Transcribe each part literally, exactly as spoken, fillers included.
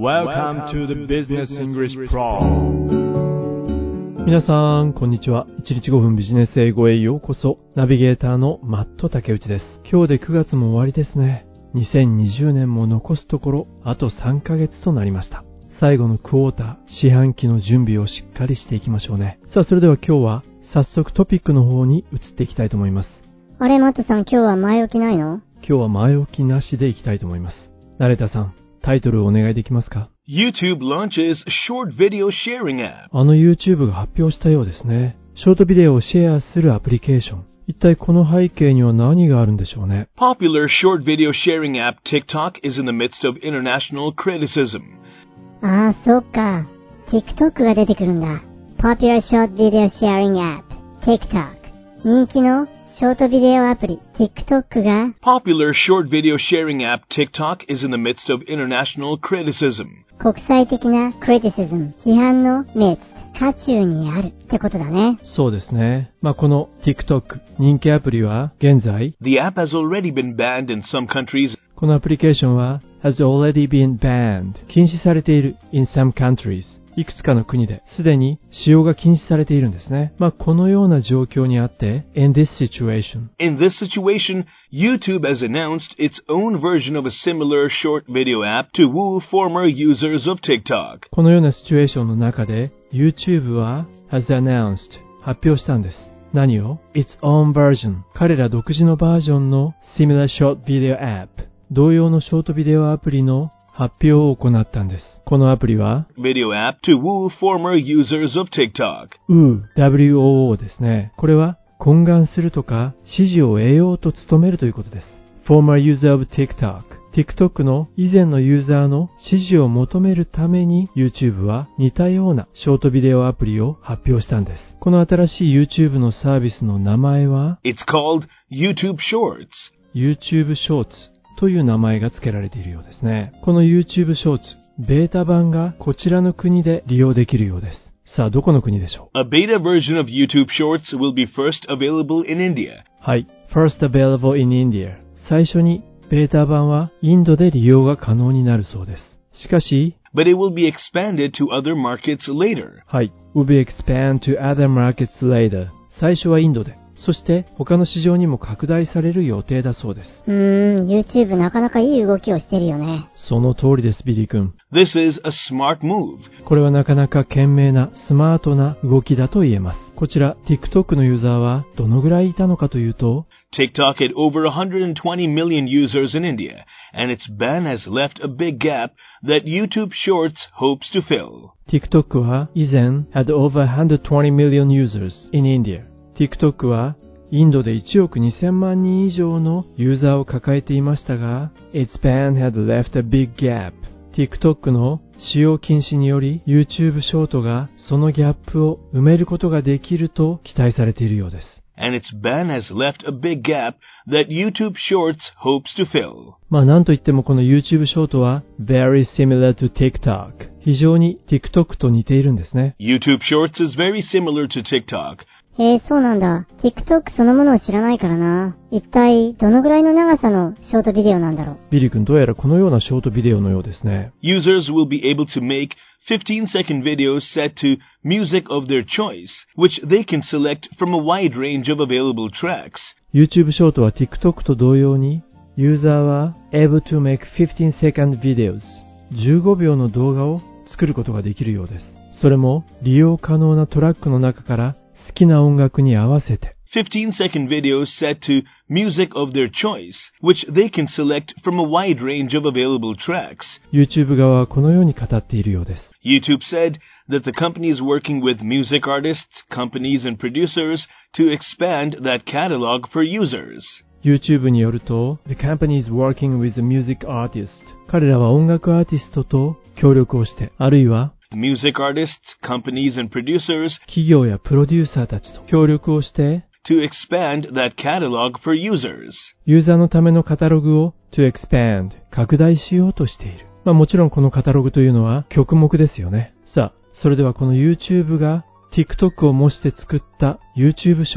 Welcome to the Business English Pro。 皆さんこんにちは。いちにちごふんビジネス英語へようこそ。ナビゲーターのマット竹内です。今日でくがつも終わりですね。にせんにじゅうねんも残すところあとさんかげつとなりました。最後のクォーター、四半期の準備をしっかりしていきましょうね。さあそれでは今日は早速トピックの方に移っていきたいと思います。 あれマットさん、今日は前置きないの？ 今日は前置きなしでいきたいと思います。成田さん、タイトルをお願いできますか？ YouTube launches short video sharing app。 あの YouTube が発表したようですね。ショートビデオをシェアするアプリケーション。一体この背景には何があるんでしょうね。 Popular short video sharing app TikTok is in the midst of international criticism。 ああ、そっか。TikTok が出てくるんだ。Popular short video sharing app TikTok。 人気のショートビデオアプリ TikTok が Popular short video sharing app TikTok is in the midst of international criticism。 国際的な criticism 批判の midst 渦中にあるってことだね。 そうですね。まあこの TikTok 人気アプリは現在 The app has already been banned in some countries。 このアプリケーションは has already been banned 禁止されている in some countries。いくつかの国ですでに使用が禁止されているんですね。まあこのような状況にあって in this situation In this situation, YouTube has announced its own version of a similar short video app to woo former users of TikTok。 このようなシチュエーションの中で YouTube は has announced 発表したんです。何を？ its own version 彼ら独自のバージョンの similar short video app 同様のショートビデオアプリの発表を行ったんです。このアプリは Video app to woo former users of TikTok。 ウー ダブリューオーオー ですね。これは懇願するとか支持を得ようと努めるということです。 Former user of TikTok TikTok の以前のユーザーの支持を求めるために YouTube は似たようなショートビデオアプリを発表したんです。この新しい YouTube のサービスの名前は It's called YouTube Shorts。 YouTube Shortsという名前が付けられているようですね。この YouTube Shorts、ベータ版がこちらの国で利用できるようです。さあ、どこの国でしょう？ A beta version of YouTube Shorts will be first available in India。 はい、First available in India。最初にベータ版はインドで利用が可能になるそうです。しかし、 But it will be expanded to other markets later。 はい、will be expand to other markets later。最初はインドで。そして他の市場にも拡大される予定だそうです。 うーん、YouTube なかなかいい動きをしてるよね。 その通りです、ビリー君。 This is a smart move。 これはなかなか賢明なスマートな動きだと言えます。こちら TikTok のユーザーはどのぐらいいたのかというと TikTok had over one hundred twenty million users in India, and its ban has left a big gap that YouTube Shorts hopes to fill。 TikTok は以前 had over one hundred twenty million users in India。TikTok はインドでいちおくにせんまんにん以上のユーザーを抱えていましたが Its ban had left a big gap。 TikTok の使用禁止により YouTube ショートがそのギャップを埋めることができると期待されているようです。 And its ban has left a big gap that YouTube Shorts hopes to fill。 まあなんといってもこの YouTube ショートは very similar to TikTok。 非常に TikTok と似ているんですね。 YouTube Shorts is very similar to TikTok。 へえ、そうなんだ。TikTok そのものを知らないからな。一体どのぐらいの長さのショートビデオなんだろう。 ビリー君、どうやらこのようなショートビデオのようですね。 Users will be able to make fifteen second videos set to music of their choice, which they can select from a wide range of available tracks。 YouTube ショートは TikTok と同様にユーザーは able to make fifteen second videos じゅうごびょうの動画を作ることができるようです。それも利用可能なトラックの中から好きな音楽に合わせて fifteen second videos set to music of their choice, which they can select from a wide range of available tracks。 YouTube 側はこのように語っているようです。 YouTube said that the company is working with music artists, companies, and producers to expand that catalog for users。 YouTube によると The company is working with a music artist。 彼らは音楽アーティストと協力をして、あるいは Music artists, companies, and producers 企業やプロデューサーたちと協力をして to expand that catalog for users。 ユーザーのためのカタログを to expand 拡大しようとしている。まあもちろんこのカタログというのは曲目ですよね。さあ、それではこの YouTube が TikTok を模して作った YouTube ショート、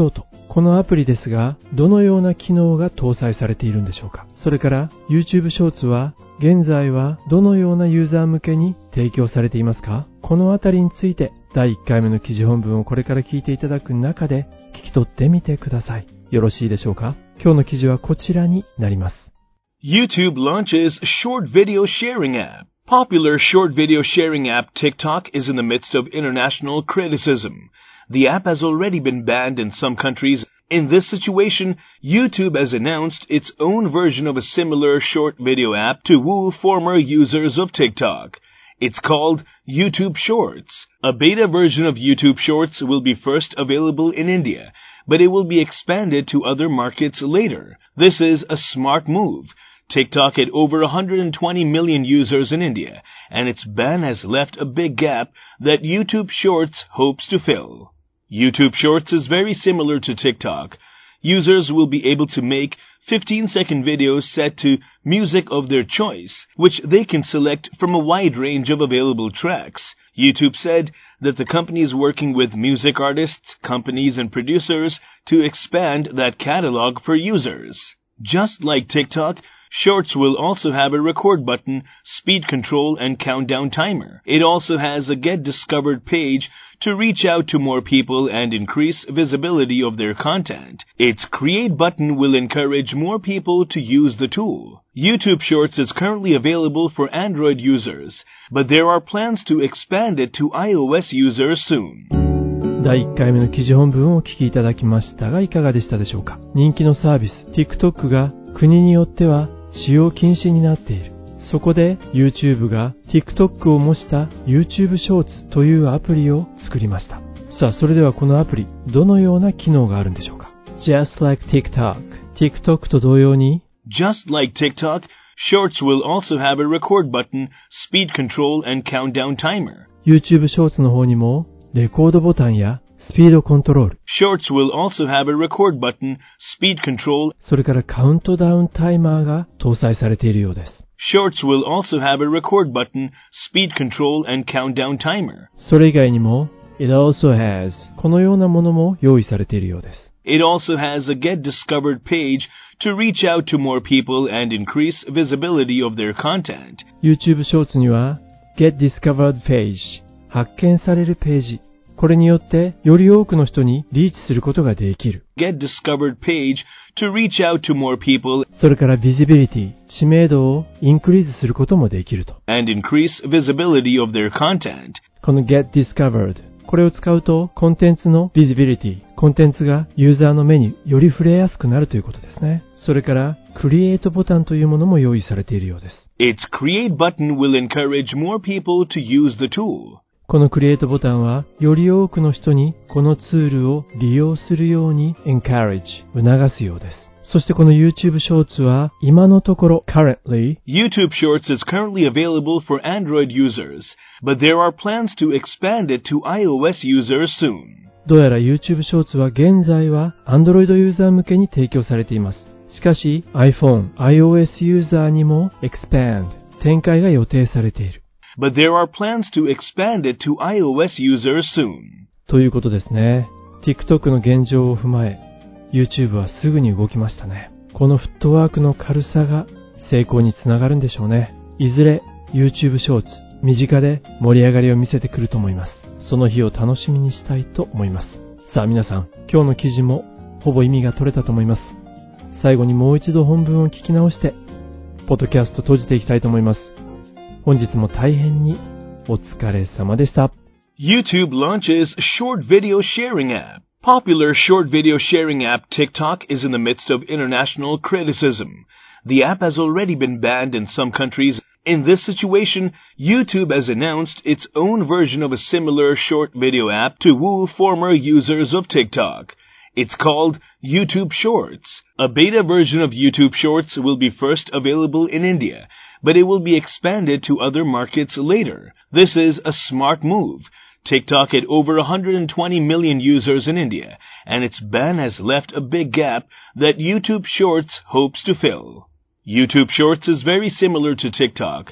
このアプリですが、どのような機能が搭載されているんでしょうか。それから YouTube ショーツは現在はどのようなユーザー向けに提供されていますか。このあたりについてだいいっかいめの記事本文をこれから聞いていただく中で聞き取ってみてください。よろしいでしょうか。今日の記事はこちらになります。 YouTube launches short video sharing app. Popular short video sharing app TikTok is in the midst of international criticism. The app has already been banned in some countries. In this situation, YouTube has announced its own version of a similar short video app to woo former users of TikTok. It's called YouTube Shorts. A beta version of YouTube Shorts will be first available in India, but it will be expanded to other markets later. This is a smart move. TikTok had over one hundred twenty million users in India, and its ban has left a big gap that YouTube Shorts hopes to fill. YouTube Shorts is very similar to TikTok. Users will be able to make fifteen second videos set to music of their choice, which they can select from a wide range of available tracks. YouTube said that the company is working with music artists, companies, and producers to expand that catalog for users. Just like TikTok, Shorts will also have a record button, speed control, and countdown timer. It also has a Get Discovered page to reach out to more people and increase visibility of their content. Its Create button will encourage more people to use the tool. YouTube Shorts is currently available for Android users, but there are plans to expand it to iOS users soon. だいいっかいめの記事本文をお聞きいただきましたがいかがでしたでしょうか。人気のサービス TikTok が国によっては使用禁止になっている。そこで YouTube が TikTok を模した YouTube Shorts というアプリを作りました。さあ、それではこのアプリどのような機能があるんでしょうか。 Just like TikTok TikTok と同様に Just like TikTok, Shorts will also have a record button, speed control, and countdown timer. YouTube Shorts の方にもレコードボタンやスピードコントロール Shorts will also have a record button, speed control, それからカウントダウンタイマーが搭載されているようです。 Shorts will also have a record button, speed control, and countdown timer. それ以外にも It also has このようなものも用意されているようです。 It also has a Get Discovered page to reach out to more people and increase visibility of their content. YouTube Shorts には Get Discovered page 発見されるページ、これによってより多くの人にリーチすることができる。 Get Discovered page to reach out to more people それからVisibility、知名度をインクリーズすることもできると。 and increase visibility of their content. この Get Discovered、これを使うとコンテンツの Visibility、コンテンツがユーザーの目により触れやすくなるということですね。それからCreateボタンというものも用意されているようです。 Its Create button will encourage more people to use the tool. このクリエイトボタンはより多くの人にこのツールを利用するように encourage 促すようです。そしてこの YouTube Shorts は今のところ currently YouTube Shorts is currently available for Android users, but there are plans to expand it to iOS users soon. どうやら YouTube Shorts は現在は Android ユーザー向けに提供されています。しかし iPhone、iOS ユーザーにも expand 展開が予定されている。 But there are plans to expand it to iOS users soon. ということですね。TikTok の現状を踏まえ、YouTube はすぐに動きましたね。このフットワークの軽さが成功につながるんでしょうね。いずれ YouTube Shorts、身近で盛り上がりを見せてくると思います。その日を楽しみにしたいと思います。さあ皆さん、今日の記事もほぼ意味が取れたと思います。最後にもう一度本文を聞き直して、ポッドキャスト閉じていきたいと思います。本日も大変にお疲れ様でした。 YouTube launches short video sharing app. Popular short video sharing app TikTok is in the midst of international criticism. The app has already been banned in some countries. In this situation, YouTube has announced its own version of a similar short video app to woo former users of TikTok. It's called YouTube Shorts. A beta version of YouTube Shorts will be first available in India, but it will be expanded to other markets later. This is a smart move. TikTok had over one hundred twenty million users in India, and its ban has left a big gap that YouTube Shorts hopes to fill. YouTube Shorts is very similar to TikTok.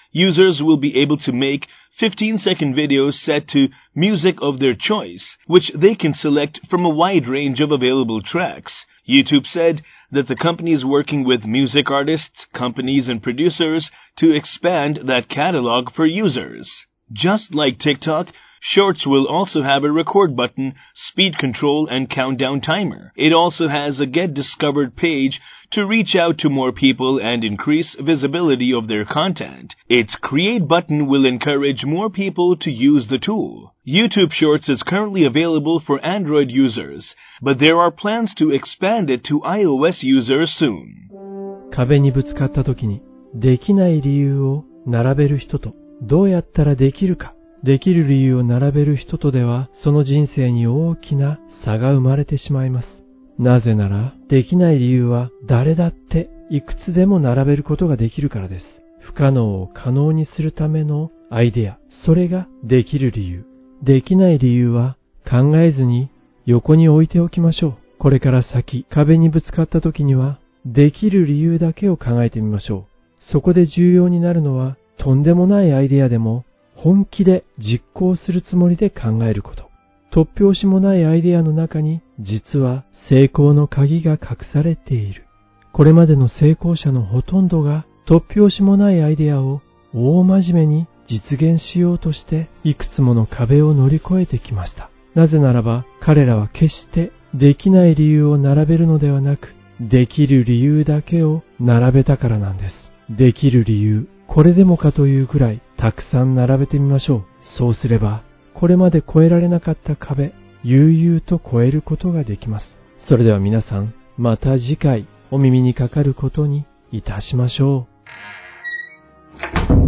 Users will be able to make fifteen-second videos set to music of their choice, which they can select from a wide range of available tracks. YouTube said that the company is working with music artists, companies, and producers to expand that catalog for users. Just like TikTok, Shorts will also have a record button, speed control, and countdown timer. It also has a Get Discovered page to reach out to more people and increase visibility of their content. Its Create button will encourage more people to use the tool. YouTube Shorts is currently available for Android users, but there are plans to expand it to iOS users soon. 壁にぶつかった時にできない理由を並べる人とどうやったらできるかできる理由を並べる人とではその人生に大きな差が生まれてしまいます。なぜならできない理由は誰だっていくつでも並べることができるからです。不可能を可能にするためのアイデア、それができる理由。できない理由は考えずに横に置いておきましょう。これから先壁にぶつかった時にはできる理由だけを考えてみましょう。そこで重要になるのはとんでもないアイデアでも本気で実行するつもりで考えること。突拍子もないアイデアの中に実は成功の鍵が隠されている。これまでの成功者のほとんどが突拍子もないアイデアを大真面目に実現しようとしていくつもの壁を乗り越えてきました。なぜならば彼らは決してできない理由を並べるのではなく、できる理由だけを並べたからなんです。できる理由、これでもかというくらいたくさん並べてみましょう。そうすればこれまで越えられなかった壁、悠々と越えることができます。それでは皆さん、また次回お耳にかかることにいたしましょう。